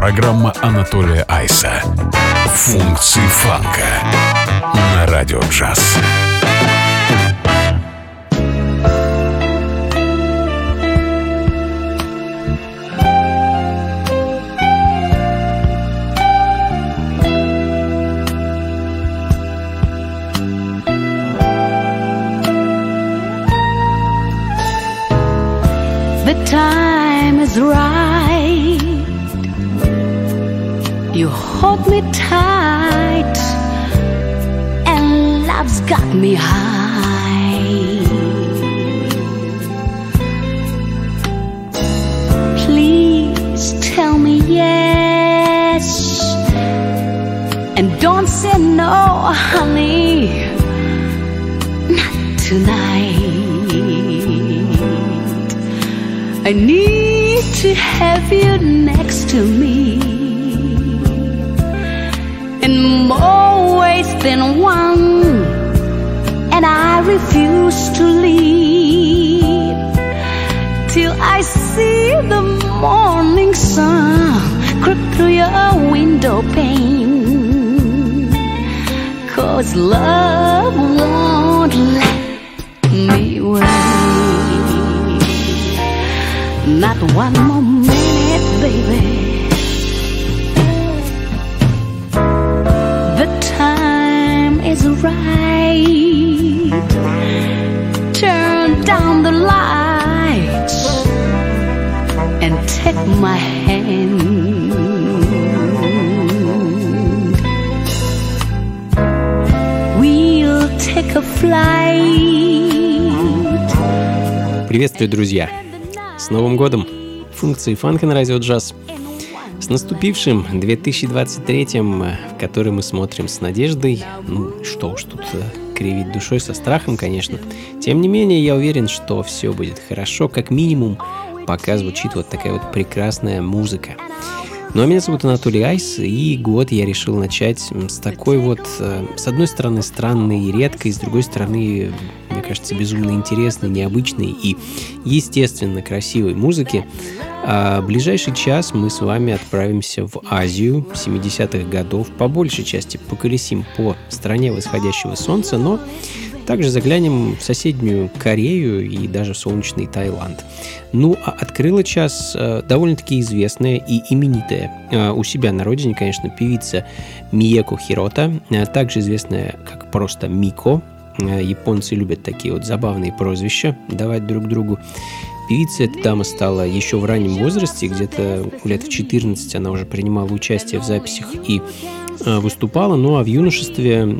Программа Анатолия Айса «Функции фанка» на Радио Джаз. The time is right. You hold me tight, and love's got me high. Please tell me yes, and don't say no, honey, not tonight. I need to have you next to me in more ways than one, and I refuse to leave till I see the morning sun creep through your window pane. 'Cause love won't let me wait. Not one more minute, baby. The time is right. Turn down the lights and take my hand. We'll take a flight. Приветствую, друзья! С Новым годом! Функции фанка на Радио Джаз. С наступившим 2023-м, в который мы смотрим с надеждой. Ну, что уж тут кривить душой, со страхом, конечно. Тем не менее, я уверен, что все будет хорошо, как минимум, пока звучит вот такая вот прекрасная музыка. Ну, а меня зовут Анатолий Айс, и год я решил начать с такой вот, с одной стороны, странной и редкой, с другой стороны, мне кажется, безумно интересной, необычной и, естественно, красивой музыки. А ближайший час мы с вами отправимся в Азию 70-х годов, по большей части поколесим по стране восходящего солнца, но также заглянем в соседнюю Корею и даже в солнечный Таиланд. Ну, а открыла час довольно-таки известная и именитая у себя на родине, конечно, певица Миеко Хирота, также известная как просто Мико. Японцы любят такие вот забавные прозвища давать друг другу. Певица эта дама стала еще в раннем возрасте, где-то лет в 14 она уже принимала участие в записях и выступала, ну а в юношестве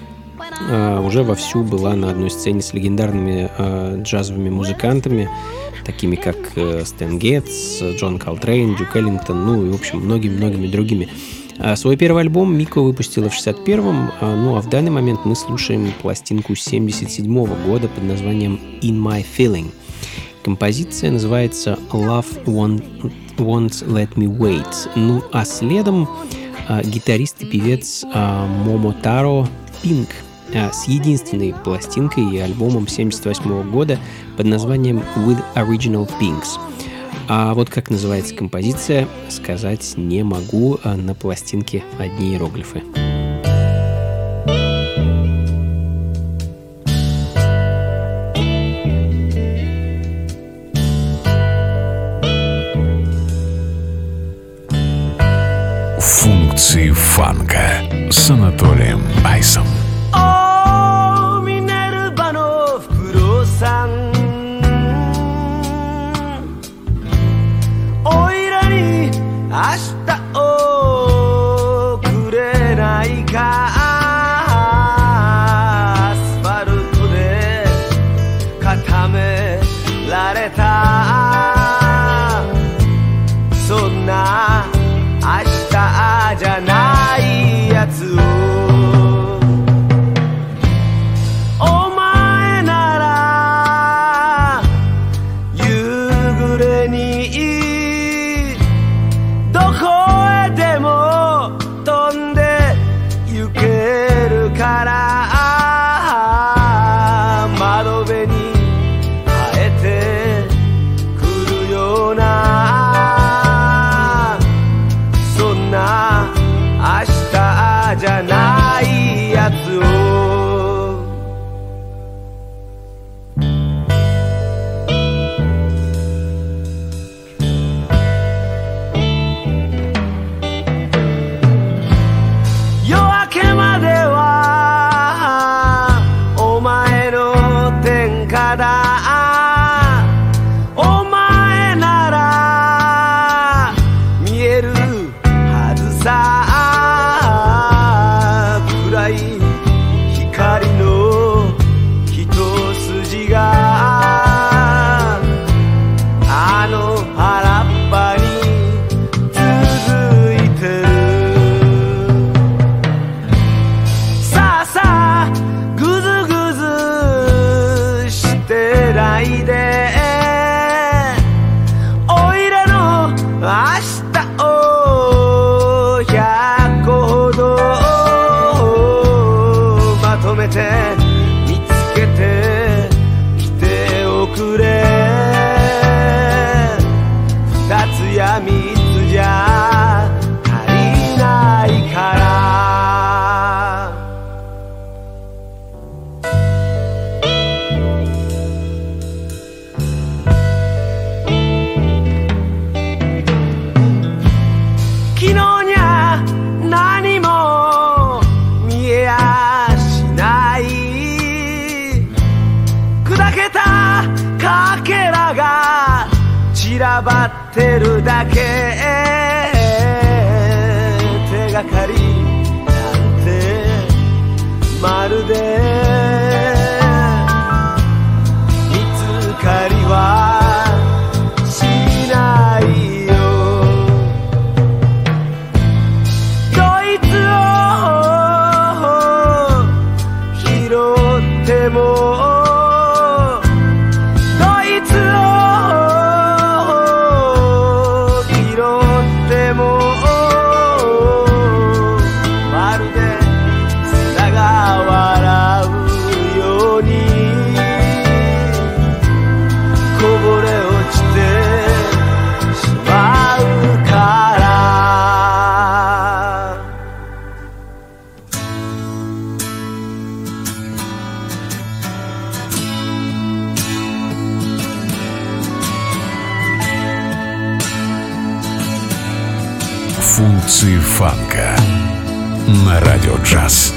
уже вовсю была на одной сцене с легендарными джазовыми музыкантами, такими как Стэн Гетц, Джон Колтрейн, Дюк Эллингтон, ну и, в общем, многими-многими другими. Свой первый альбом Мико выпустила в 61-м, ну а в данный момент мы слушаем пластинку 77-го года под названием «In My Feeling». Композиция называется «Love Won't Let Me Wait». Ну а следом гитарист и певец Момотаро Пинк с единственной пластинкой и альбомом 1978 года под названием «With Original Pinks». А вот как называется композиция, сказать не могу, на пластинке одни иероглифы. Функции фанка с Анатолием Айсом. Don't てるだけ手がかりなんてまるで見つかりはしないよどいつを拾っても Функции фанка на радио джаз.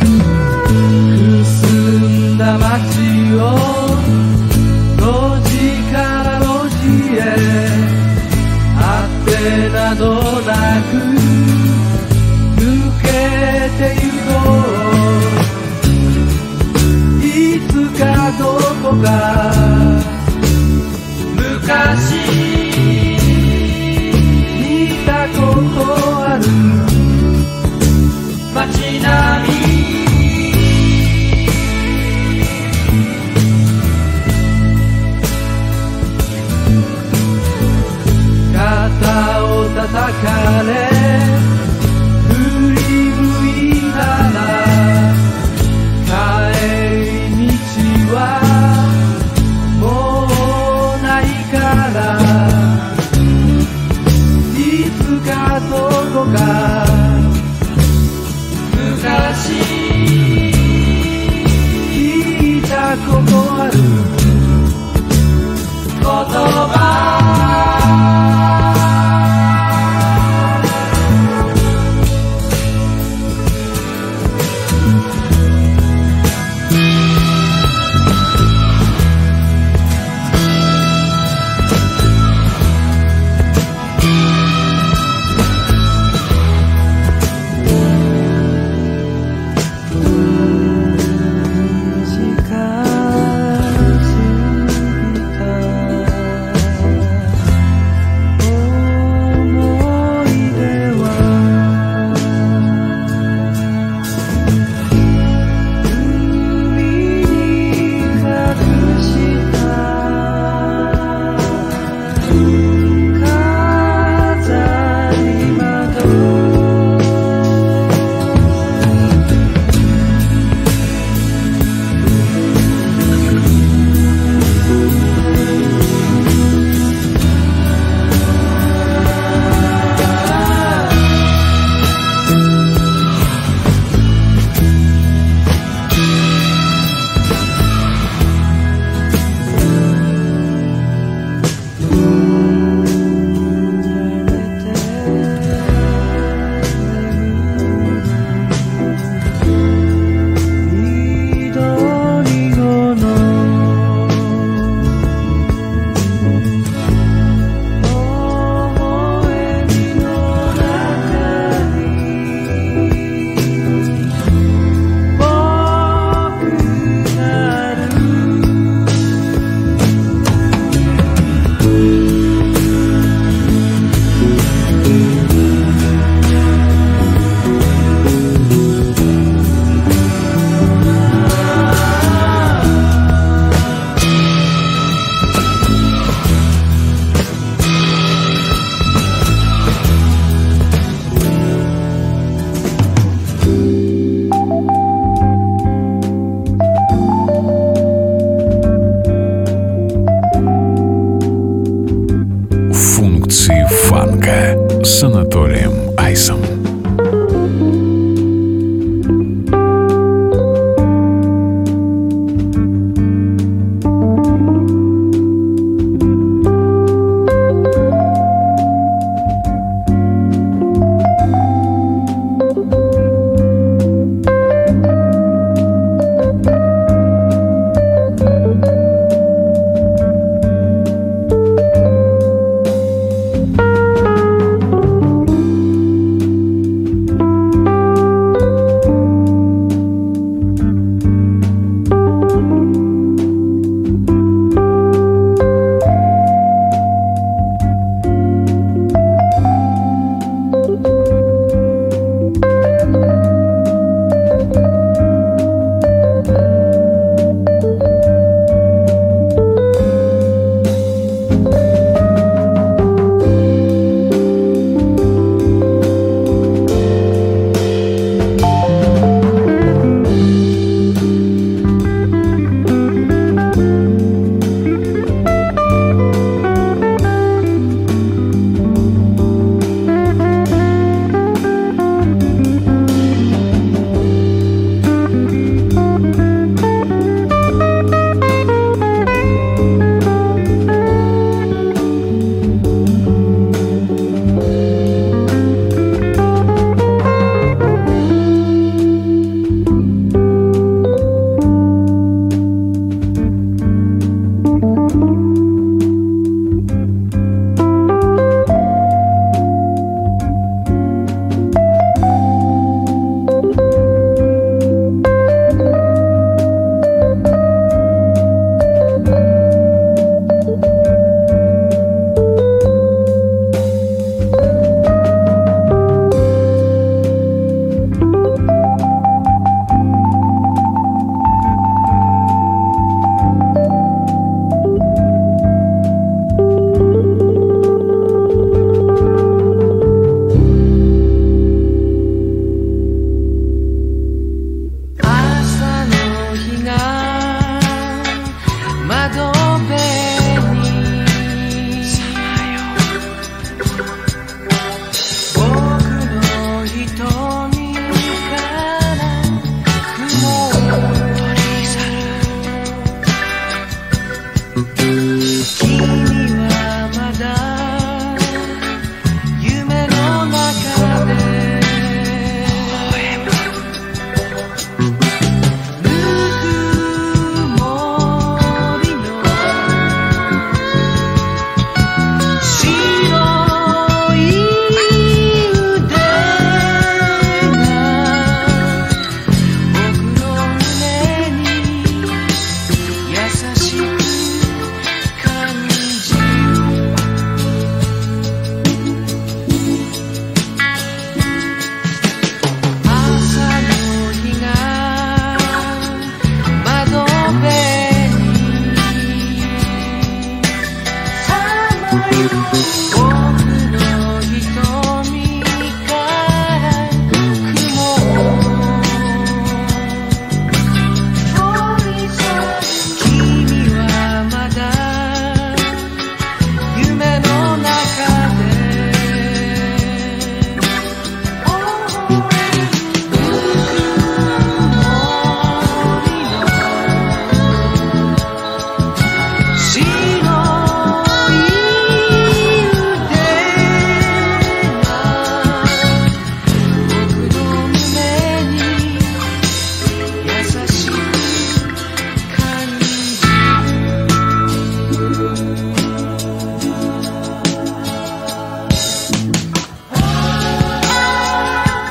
澄んだ街を路地から路地へあってなどなく抜けてゆこういつかどこか昔見たことある街並み肩を叩かれ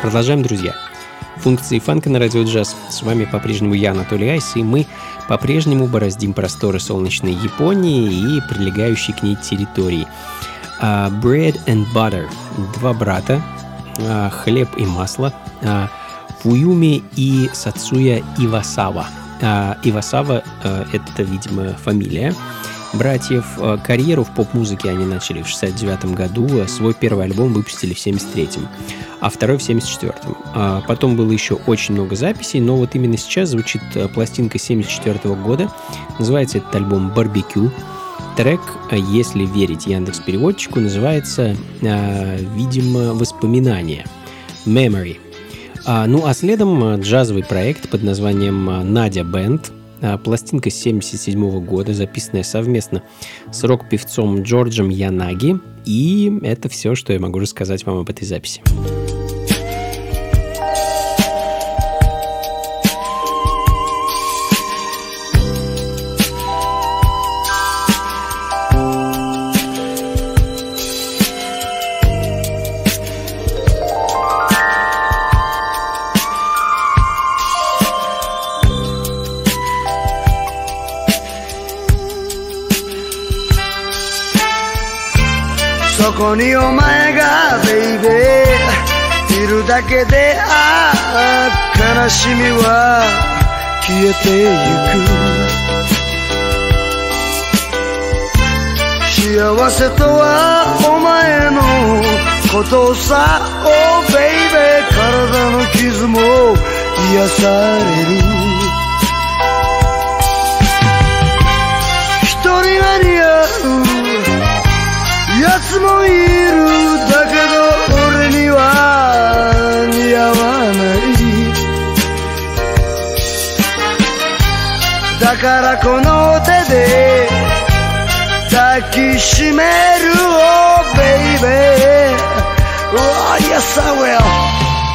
Продолжаем, друзья. Функции фанка на радио джаз. С вами по-прежнему я, Анатолий Айс, и мы по-прежнему бороздим просторы солнечной Японии и прилегающей к ней территории. Bread and Butter. Два брата. Хлеб и масло. Фуюми и Сацуя Ивасава. Ивасава — это, видимо, фамилия братьев. Карьеру в поп-музыке они начали в 1969 году, свой первый альбом выпустили в 1973, а второй в 1974. Потом было еще очень много записей, но вот именно сейчас звучит пластинка 1974 года. Называется этот альбом «Барбекю». Трек, если верить Яндекс.Переводчику, называется, видимо, «Воспоминания» «Memory». Ну а следом джазовый проект под названием «Надя Бэнд». Пластинка 1977 года, записанная совместно с рок-певцом Джорджем Янаги. И это все, что я могу рассказать вам об этой записи. そこにお前がベイベーいるだけで悲しみは消えてゆく幸せとはお前のことさ Oh baby 体の傷も癒される一人が似合う奴もいるだけど俺には似合わないだからこの手で抱きしめる Oh baby Oh yes I will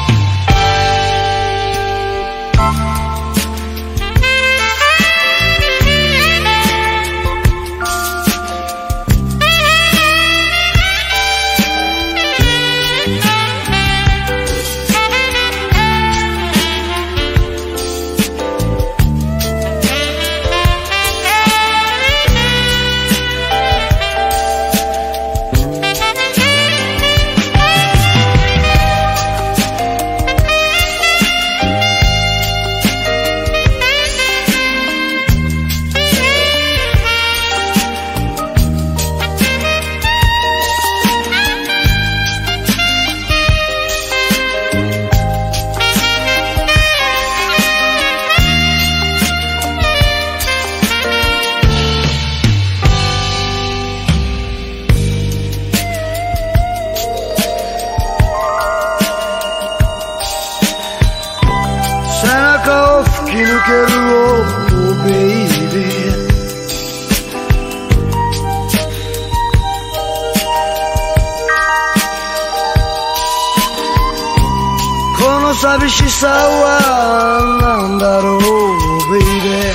寂しさはなんだろう baby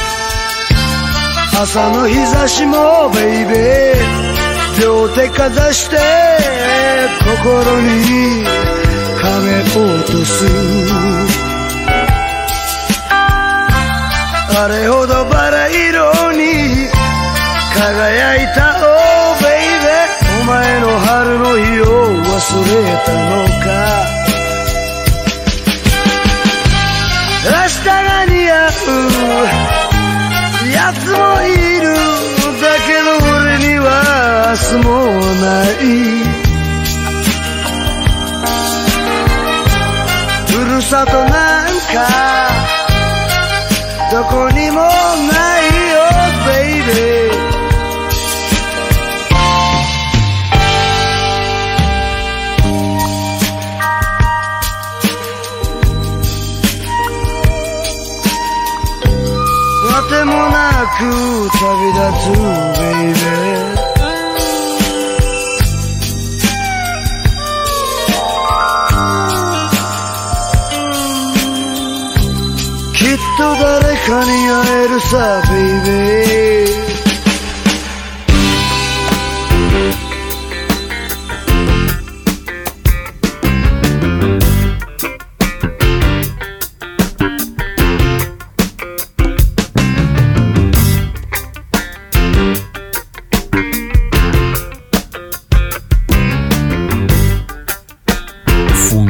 朝の日差しも baby 両手かざして心に亀落とすあれほどバラ色に輝いた Oh baby お前の春の日を忘れたのか明日が似合うやつもいるだけど俺には明日もないふるさとなんかどこにもないよ babyわてもなく旅立つ baby きっと誰かに会えるさ baby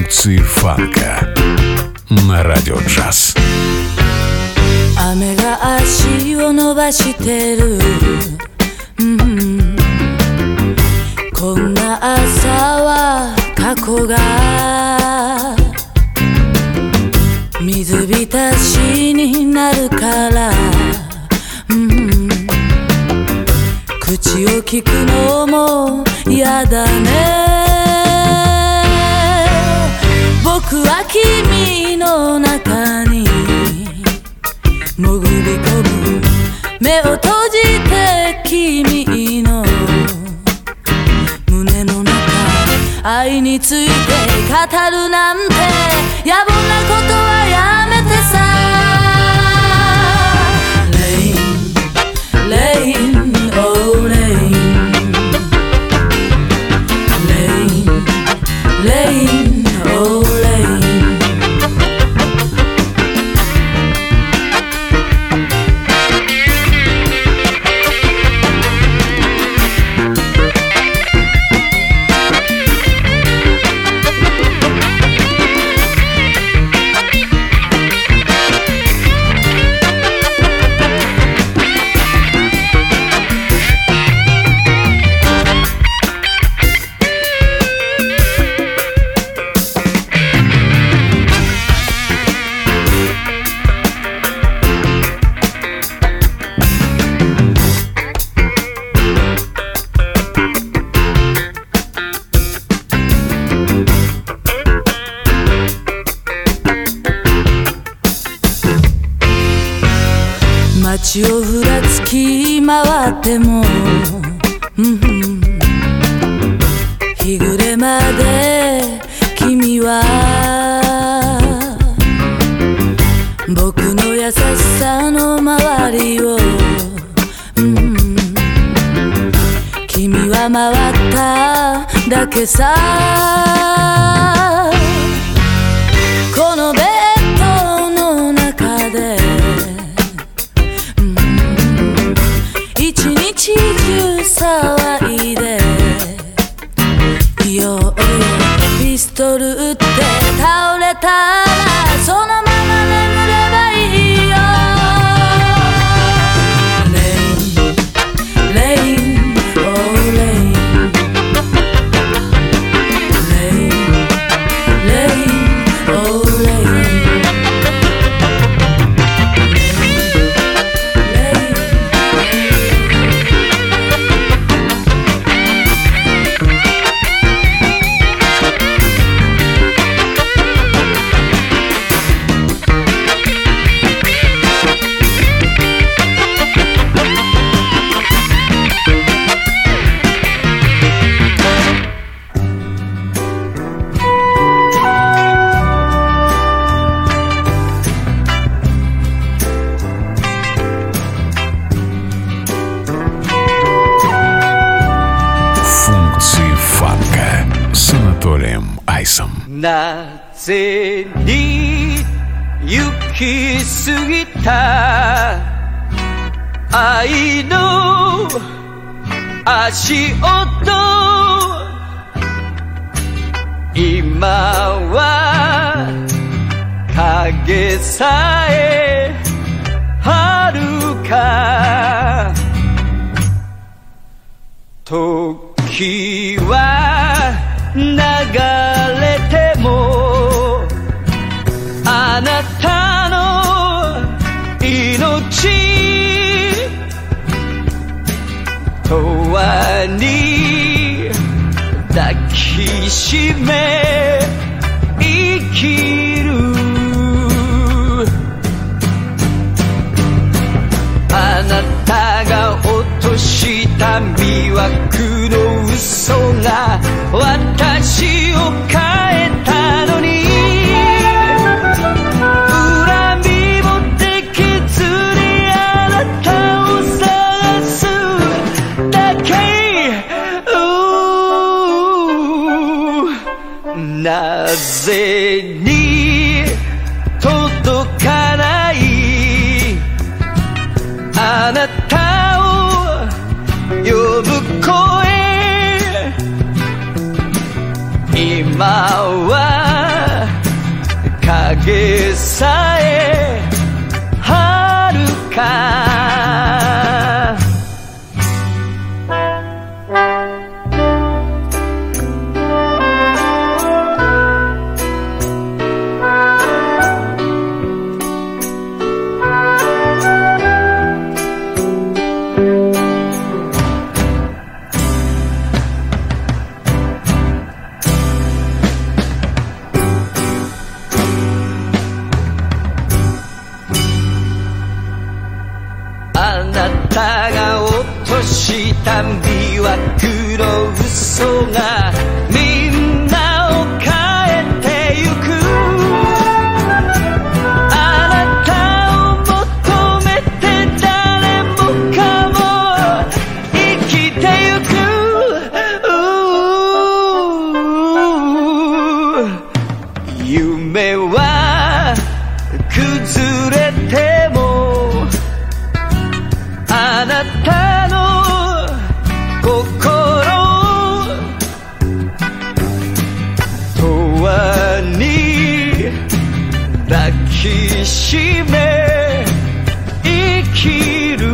Функции фанка на Радио Джаз. 雨が足を伸ばしてる、こんな朝は過去が水浸しになるから、口を聞くのも嫌だね。僕は君の中に潜り込む、目を閉じて君の胸の中、愛について語るなんて野暮なことはやめてさ。 Rain, rain, oh rain, rain, rain, oh rain. 街をふらつき回っても、日暮れまで君は僕の優しさの周りを、君は回っただけさ。このベッドの中で一日中騒いで、いよいよピストル撃って倒れたらそのまま眠ればいいよ。 Rain, rain, oh rain, rain, rain, oh rain. なぜに行き過ぎた愛の足音、今は影さえ遥か、時は流れてもあなたの命永遠に抱きしめ生きる。あなたが落とした魅惑の嘘が私を変えたのに、恨みもできずにあなたを探すだけ。なぜに届かないあなたを呼ぶ声、今は影さえ遥かした魅惑の嘘がみんなを変えてゆくあなたを求めて誰もかも生きてゆく夢は崩れてもあなたの抱きしめ生きる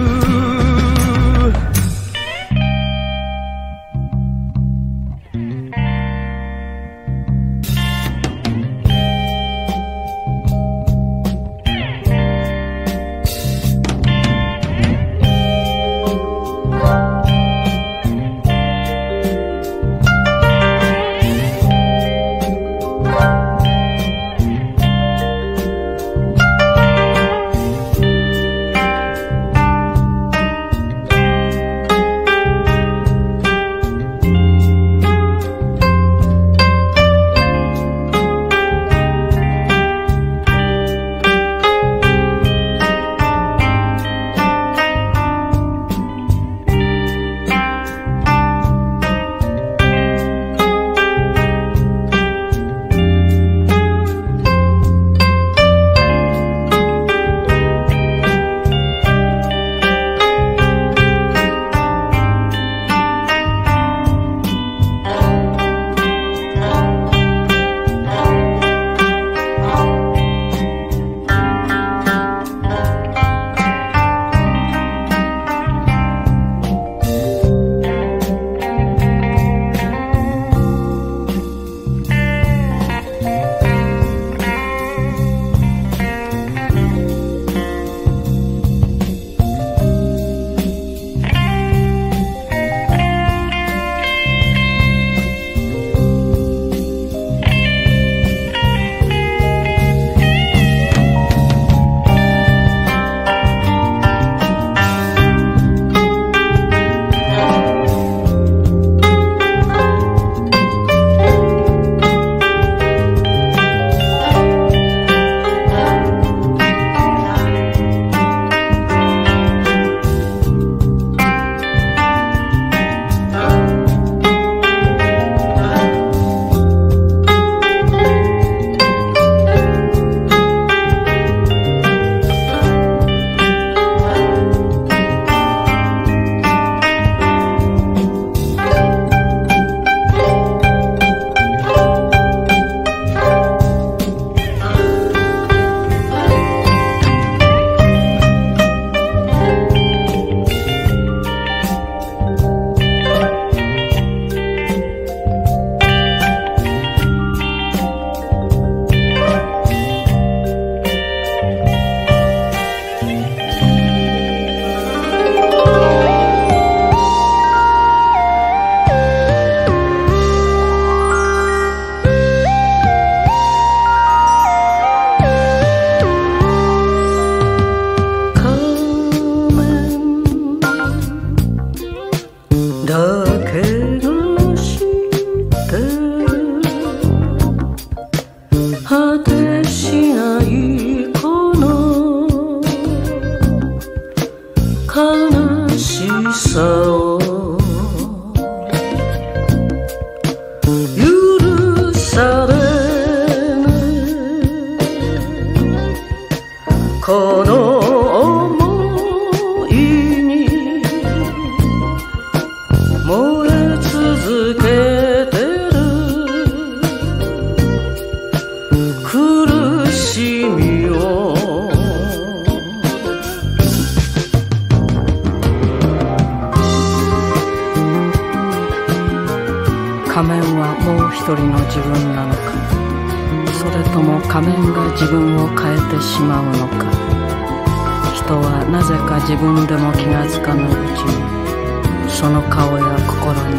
自分なのか、それとも仮面が自分を変えてしまうのか。人はなぜか自分でも気がつかぬうちにその顔や心に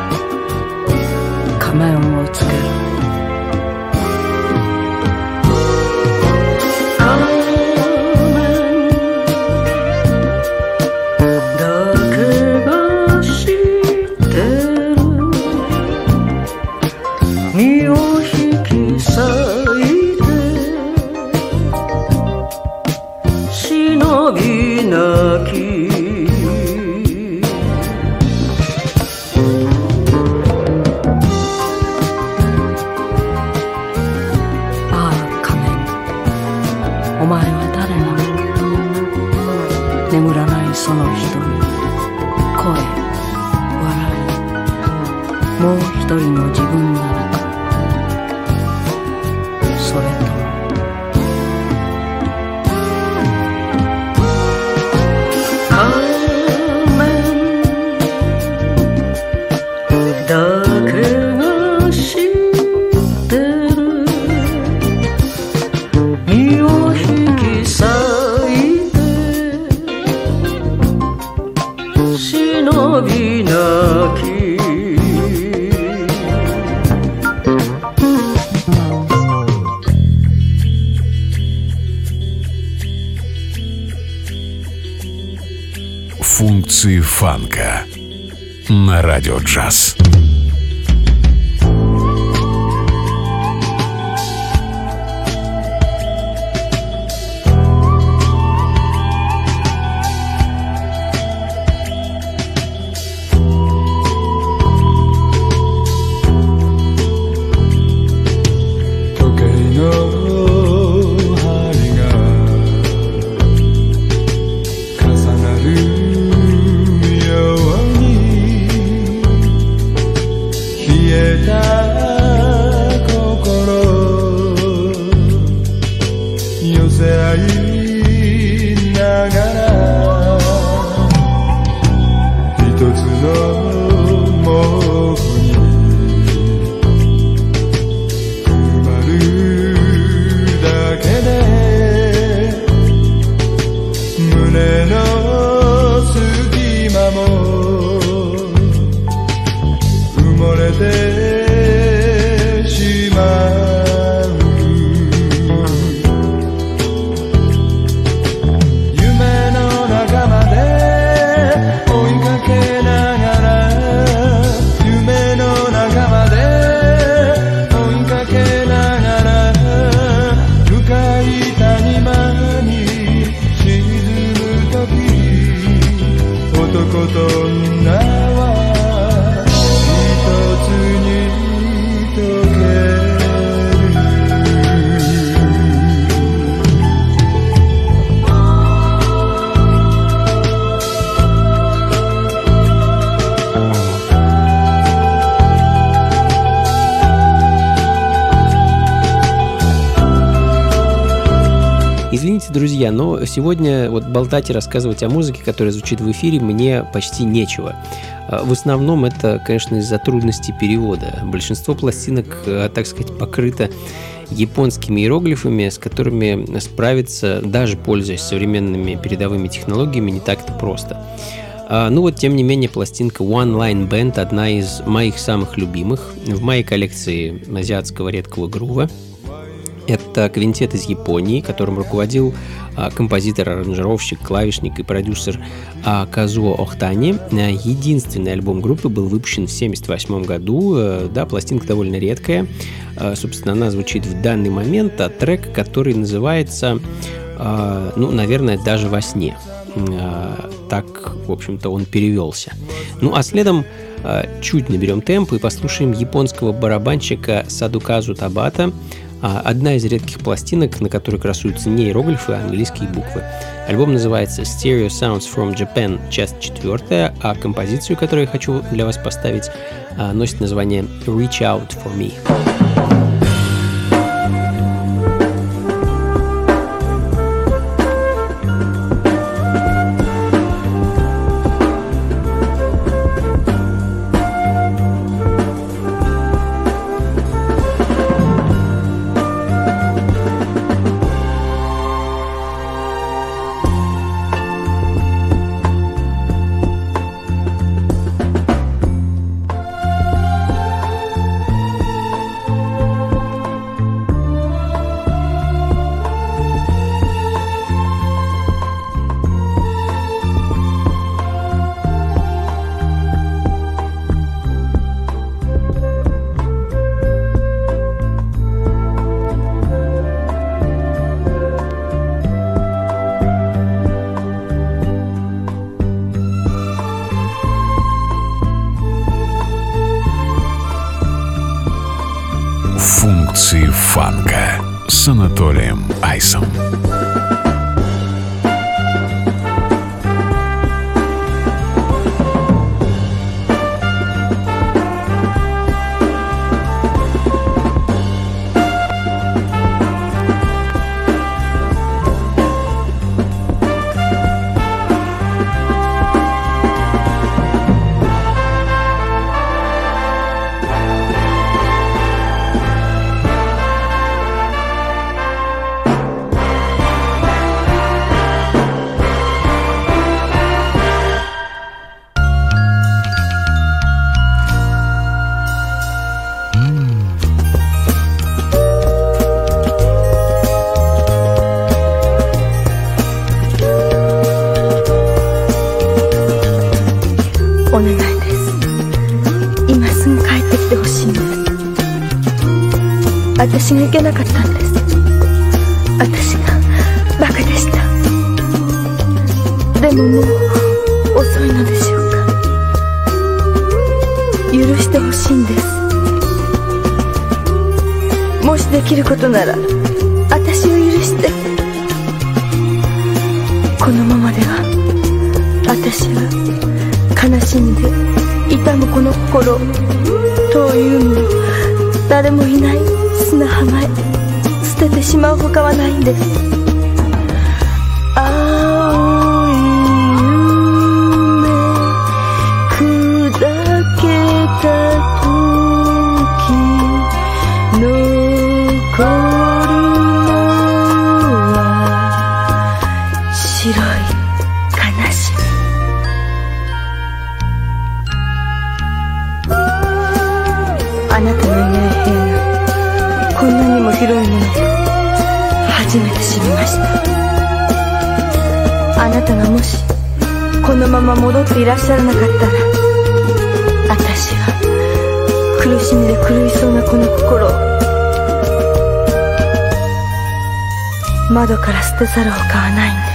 仮面をつける。 Функции фанка на Радио Джаз. Извините, друзья, но сегодня вот болтать и рассказывать о музыке, которая звучит в эфире, мне почти нечего. В основном это, конечно, из-за трудностей перевода. Большинство пластинок, так сказать, покрыто японскими иероглифами, с которыми справиться, даже пользуясь современными передовыми технологиями, не так-то просто. Ну вот, тем не менее, пластинка One Line Band одна из моих самых любимых в моей коллекции азиатского редкого грува. Это квинтет из Японии, которым руководил композитор, аранжировщик, клавишник и продюсер Казуо Охтани. Единственный альбом группы был выпущен в 1978 году. Да, пластинка довольно редкая. Собственно, она звучит в данный момент, а трек, который называется, ну, наверное, «Даже во сне». Так, в общем-то, он перевелся. Ну, а следом чуть наберем темп и послушаем японского барабанщика Садуказу Табата. Одна из редких пластинок, на которой красуются не иероглифы, а английские буквы. Альбом называется Stereo Sounds from Japan, часть 4, а композицию, которую я хочу для вас поставить, носит название Reach Out for Me. Функции фанка с Анатолием Айсом. お願いです。今すぐ帰ってきてほしいんです。私がいけなかったんです。私がバカでした。でももう遅いのでしょうか。許してほしいんです。もしできることなら私を許して。このままでは私は悲しんで痛むこの心をというも誰もいない砂浜へ捨ててしまうほかはないんです。青い夢砕けた時残るのは白い悲しみ。あなたのいない部屋がこんなにも広いものと初めて知りました。あなたがもしこのまま戻っていらっしゃらなかったら、私は苦しみで狂いそうなこの心を窓から捨て去るほかはないんです。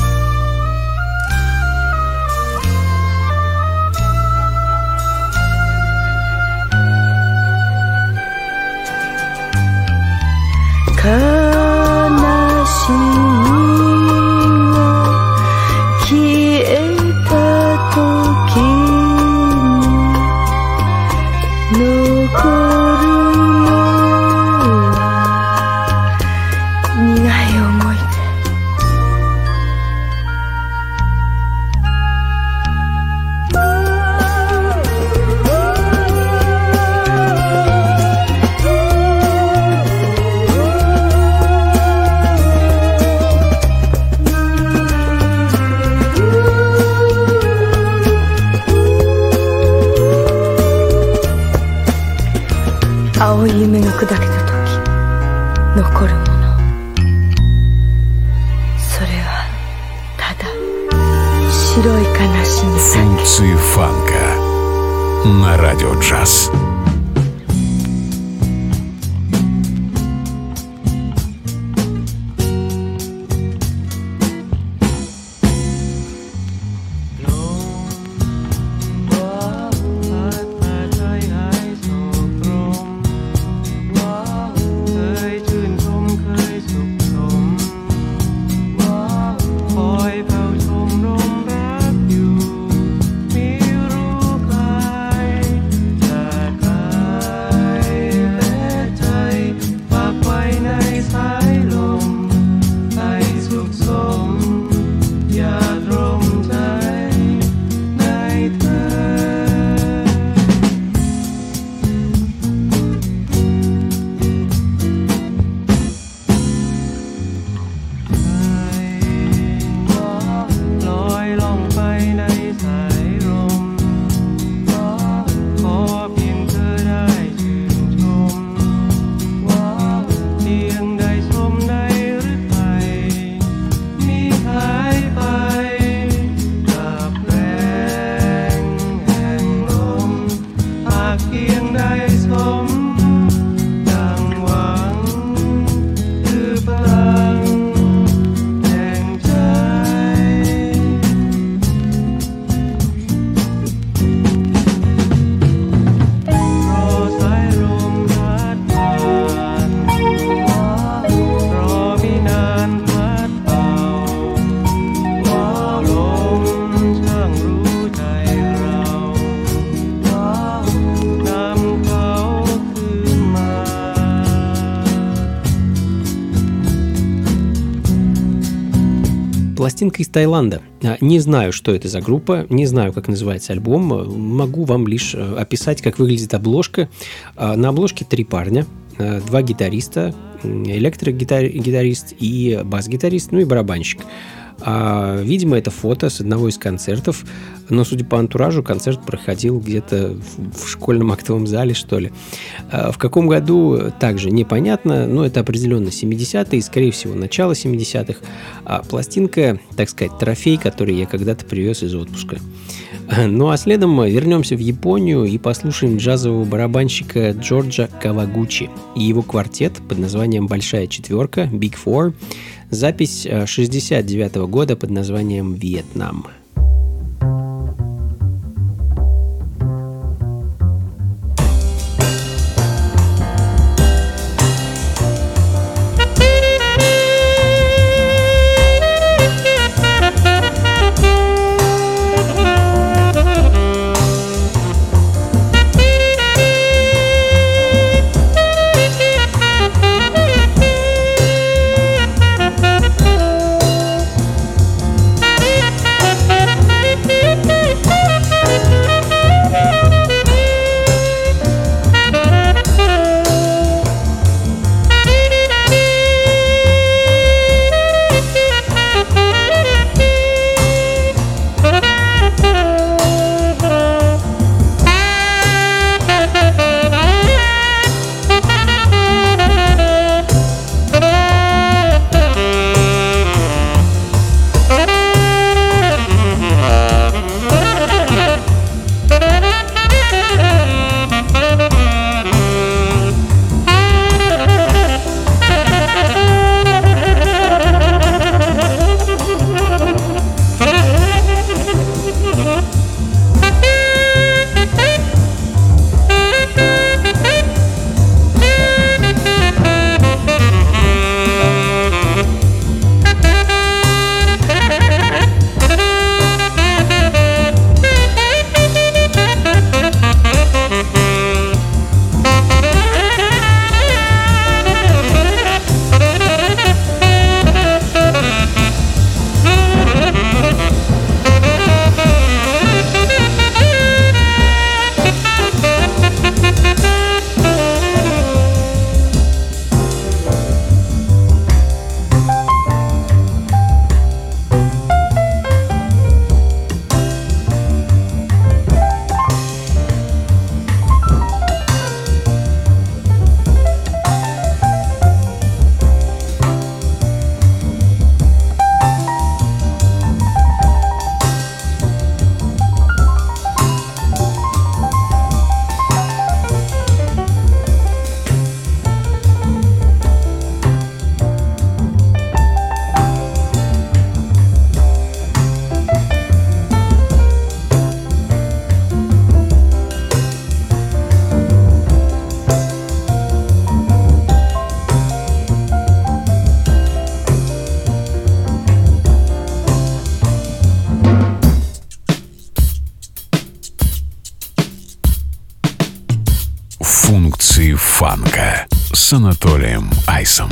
悲しみが消えた時に残るのは苦い思い出。青い夢が砕けた時残るもの、それはただ白い悲しみだけ。 Функции фанка на радио джаз. Пластинка из Таиланда. Не знаю, что это за группа, не знаю, как называется альбом. Могу вам лишь описать, как выглядит обложка. На обложке 3 парня, 2 гитариста, электрогитарист и бас-гитарист, ну и барабанщик. Видимо, это фото с одного из концертов, но, судя по антуражу, концерт проходил где-то в школьном актовом зале, что ли. В каком году, также непонятно, но это определенно 70-е, скорее всего, начало 70-х. Пластинка, так сказать, трофей, который я когда-то привез из отпуска. Ну а следом вернемся в Японию и послушаем джазового барабанщика Джорджа Кавагучи и его квартет под названием «Большая четверка» Big Four. Запись 1969 года под названием «Вьетнам». Функции фанка с Анатолием Айсом.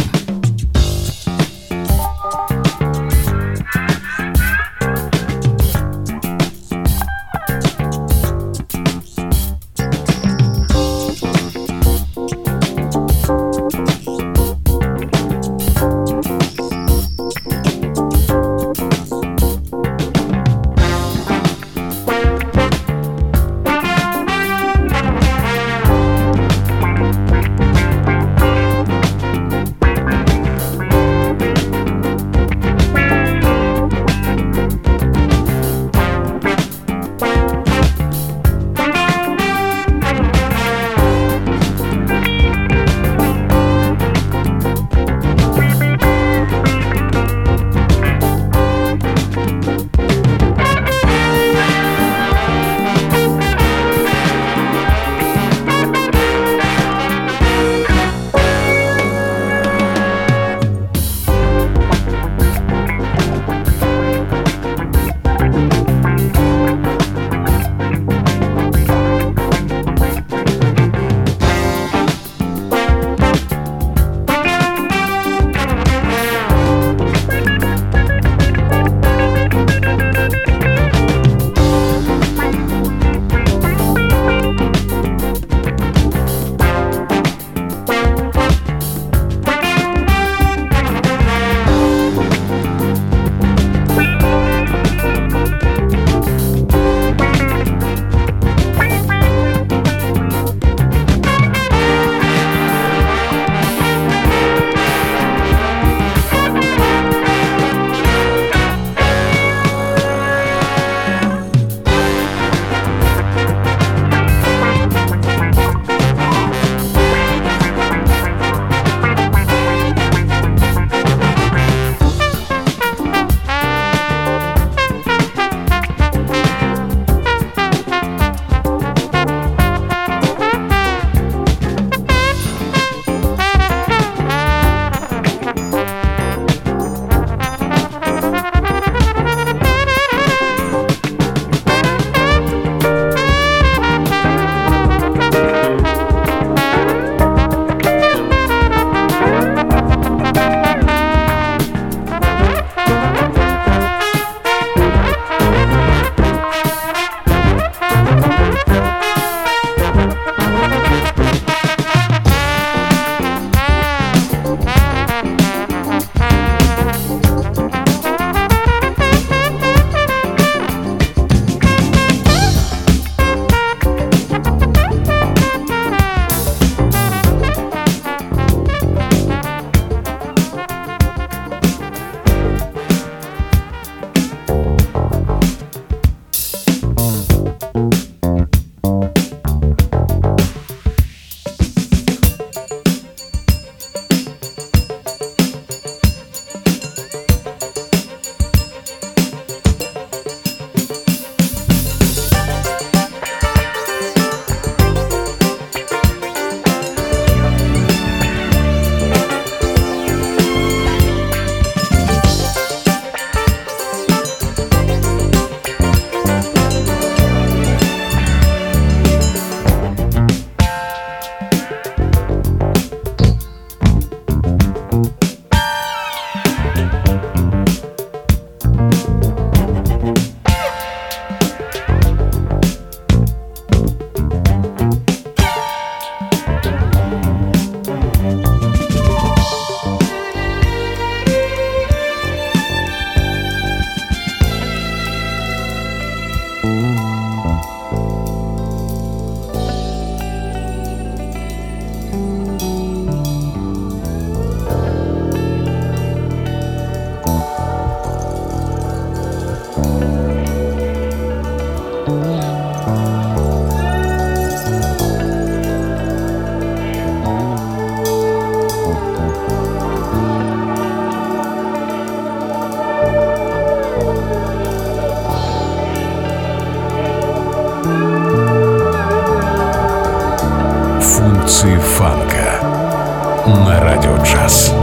Функции фанка на Радио Джаз.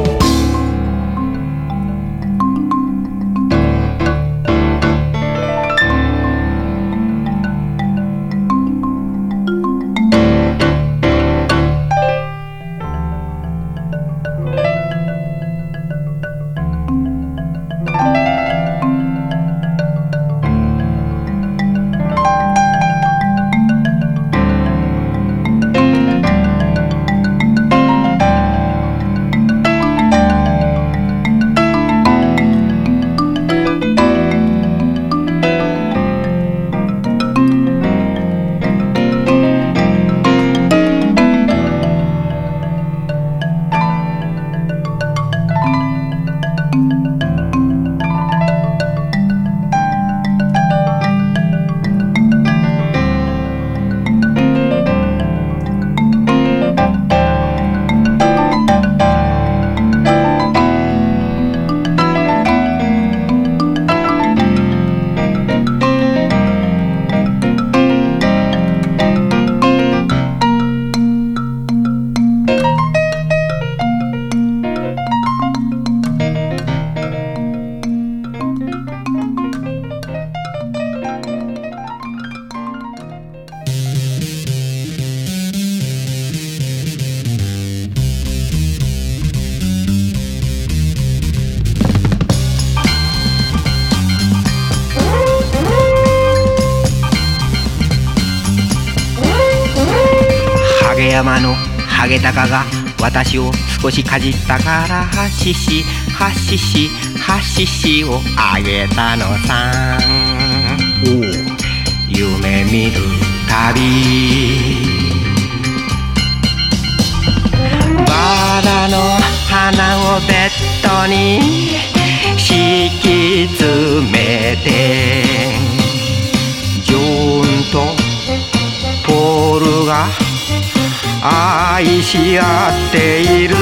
山のハゲタカが私を少しかじったからハシシハシシハシシをあげたのさ。夢見る旅バラの花をベッドに敷き詰めてジョーンとポールが愛し合っている。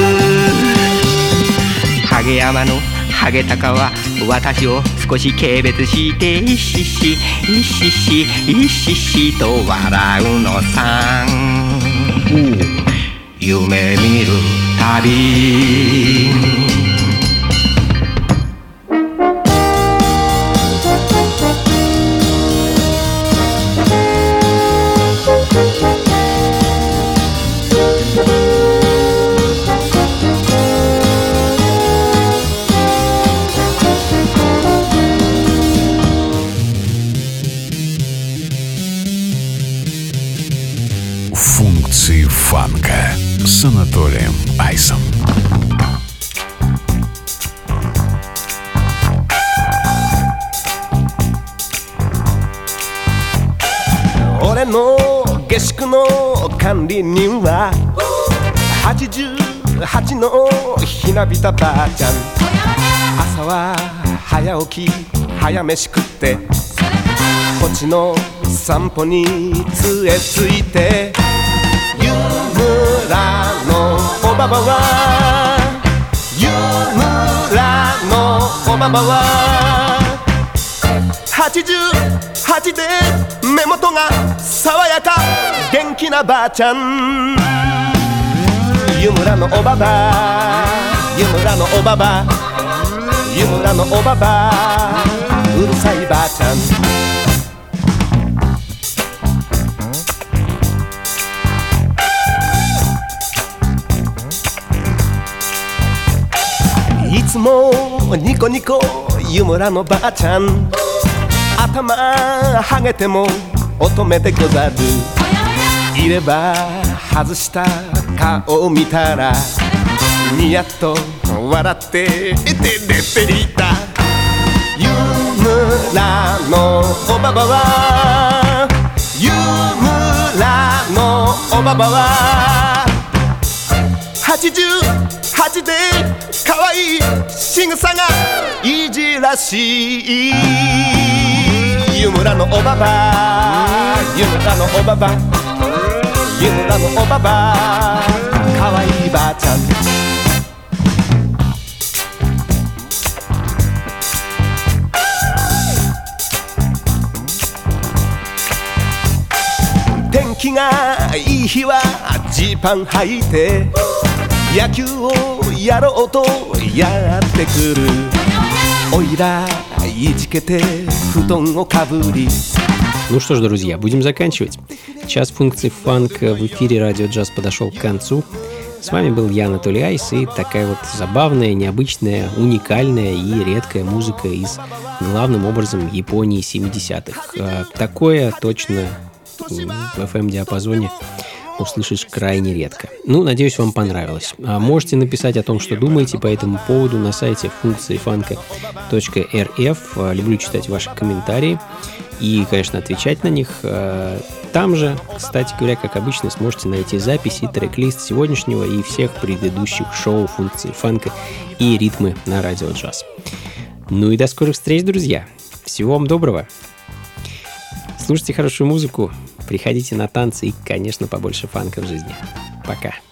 ハゲ山のハゲタカは私を少し軽蔑してイシシイシシイシシと笑うのさ。夢見る旅 Функции фанка с Анатолием Айсом. 俺の下宿の管理人は88のひなびたばあちゃん。朝は早起き早飯食ってこっちの散歩に杖ついて湯村のおばばは湯村のおばばは88で目元が爽やか元気なばあちゃん。湯村のおばば湯村のおばば湯村のおばばうるさいばあちゃん。いつもニコニコ湯村のばあちゃん。頭はげても乙女でござる。いれば外した顔を見たらニヤッと笑っててれてりだ。湯村のおばばは湯村のおばばは88で可愛い仕草がいじらしい。湯村のおばば湯村のおばば湯村のおばば可愛いばあちゃん。天気がいい日はジーパン履いて野球をやろうとやってくるおいらいじけて布団をかぶり。 Ну что ж, друзья, будем заканчивать. Час функций фанка в эфире Радио Джаз подошел к концу. С вами был я, Анатолий Айс, и такая вот забавная, необычная, уникальная и редкая музыка из, главным образом, Японии 70-х. Такое точно в FM-диапазоне услышишь крайне редко. Ну, надеюсь, вам понравилось. Можете написать о том, что думаете по этому поводу на сайте функциифанка.рф. Люблю читать ваши комментарии и, конечно, отвечать на них. Там же, кстати говоря, как обычно, сможете найти запись и трек-лист сегодняшнего и всех предыдущих шоу функции фанка и ритмы на Радио Джаз. Ну и до скорых встреч, друзья! Всего вам доброго! Слушайте хорошую музыку, приходите на танцы и, конечно, побольше фанка в жизни. Пока!